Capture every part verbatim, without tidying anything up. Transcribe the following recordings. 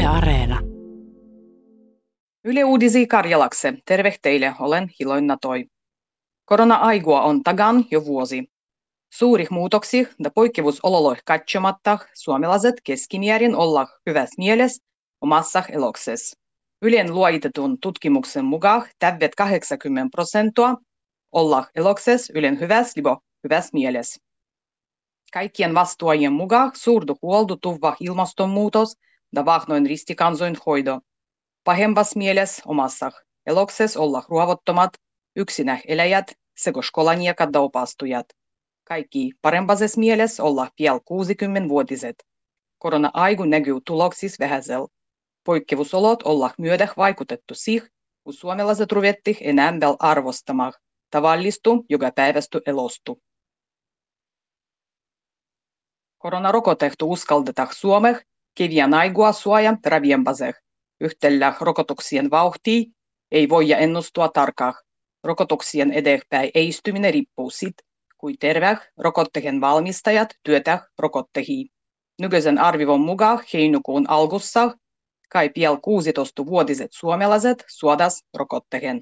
Yle Areena. Yle Uudisi Karjalakse. Terve teille, olen Hiloina Toi. Korona-aigua on tagan jo vuosi. Suurih muutoksih ja poikkevusololoih katsomatta suomalaiset keskimäärin olla hyvässä mielessä omassa elokses. Ylen luoitetun tutkimuksen mukaan täydet kahdeksankymmentä prosenttia olla elokses Ylen hyvässä libo hyvässä mielessä. Kaikkien vastuajien mukaan suurdu huoldu tuva ilmastonmuutos ja vahnoin ristikansoin hoido. Pahempas mielessä omassa elokses olla ruovottomat, yksinä eläjät sekä skolaniekat ja opastujat. Kaikki parempases mielessä olla piel kuusikymmenvuotiset. Korona-aigu näkyy tuloksis vähäsel. Poikkeusolot olla myödäh vaikutettu sih, kun suomalaiset ruvetti enää vel arvostamaan tavallistu joka päivästy elostu. Koronarokotehtu uskaldetaan Suomeh kevään aigua suojan raviempaseh. Yhtellä rokotuksien vauhtia ei voida ennustua tarkkaan. Rokotuksien edespäin eistyminen riippuu siitä, kuin terveet rokottehen valmistajat työtä rokottehii. Nykyisen arvivon mukaan heinäkuun alkussa kai piel kuusitoistavuotiset suomalaiset suodas rokottehen.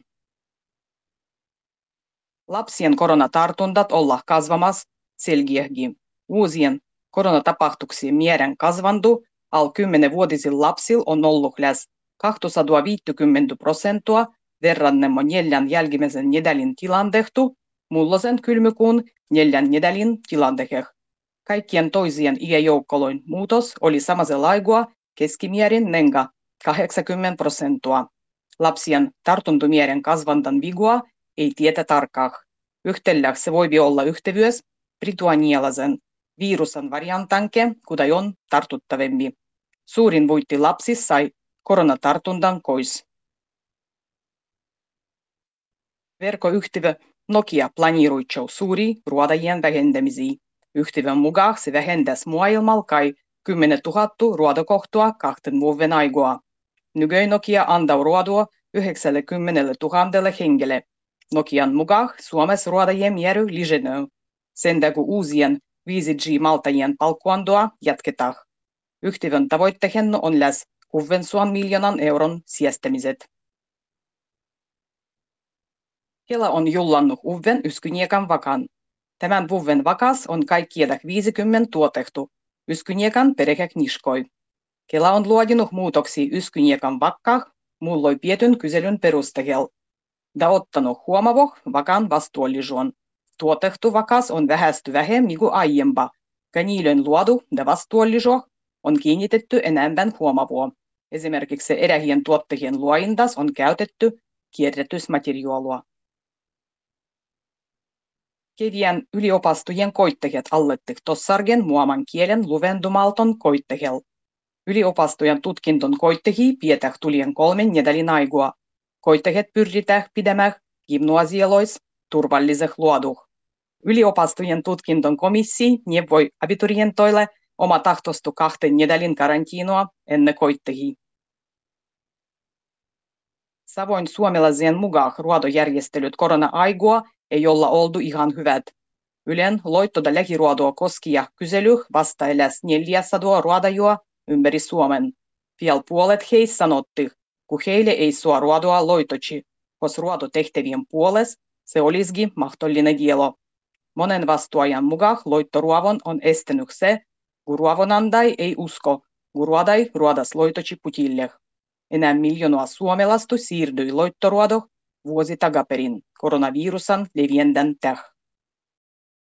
Lapsien koronatartuntat olla kasvamassa selkeästi. Uusien koronatapahtuksien määrän kasvandu al kymmenvuotisilla lapsilla on ollut lähes kaksisataaviisikymmentä prosenttia verrannemmo neljän jälkimmäisen nedälin tilantehtu mullosen kylmykuun neljän nedälin tilanteheh. Kaikkien toisien iäjoukkoloin muutos oli samasella aigua keskimäärin nenga kahdeksankymmentä prosenttia. Lapsien tartuntomäärän kasvantan vigua ei tietä tarkkaan. Yhtellä se voi olla yhtevyys brituanialaisen virusan variantanke, kuten on tartuttavempi. Suurin voitti lapsissa sai koronatartuntan kois. Verkkoyhtiö Nokia planeeruitsou suuri ruodajien vähentämisiä. Yhtiön mukaan se vähentäisi maailmalla kai kymmenen tuhatta ruodakohtaa kahden vuoden aigua. Nykyään Nokia antaa ruodua yhdeksänkymmentätuhatta hengelle. Nokian mukaan Suomessa ruodajien määrä lisääntyy. Sen takia uusien viisi G-maltajien palkkuantoa jatketaan. Yhtiön tavoitteena on lähes kuudensadan miljoonan euron säästämiset. Kela on jullannut uuden yskyniekan vakan. Tämän vuoden vakas on kaikkiaan viisikymmentä tuotettu yskyniekan perhekniskoi. Kela on luodinut muutoksia yskyniekan vakkaan mulloi pietyn kyselyn perusteella. Da ottanut huomavoh vakan vastuullisuuden. Tuotettu vakas on vähästy vähemmän kuin aiempa, ja niiden luodu ja vastuullisuus on kiinnitetty enemmän huomavoa. Esimerkiksi erähien tuottajien luointas on käytetty kierrätysmateriaalia. Kevään yliopastojen koittajat allettik tossargen muoman kielen luvendumalton koittajel. Yliopastojen tutkinton koittajia pietäh tulien kolmen nedälin aigua. Koittajat pyritään pidemään gimnasialois turvalliseh luoduh. Yliopastojen tutkinton komissi neuvoi abiturientoille oma tahtostu kahten nedälin karantiinoa ennen koittajia. Savoin suomalaisien mukaan ruodojärjestelyt korona-aigua ei olla oltu ihan hyvät. Ylen loittoda lähiruodoa koskia kyselyh vastailäs neljäsataa ruodajua ympäri Suomen. Piel puolet heistä sanotti, kun heille ei sua ruodoa loitochi, koska ruodotehtävien puolesta se olisikin mahdollinen kielo. Monen vastuajan mukaan loittoruovon on estänyt se, kun ruovonandai ei usko, kun ruodai ruodas loitochi putilleh. Enää miljoonaa suomalaista siirtyi loittoruodoh vuosi takaperin koronavirusan leviändän täh.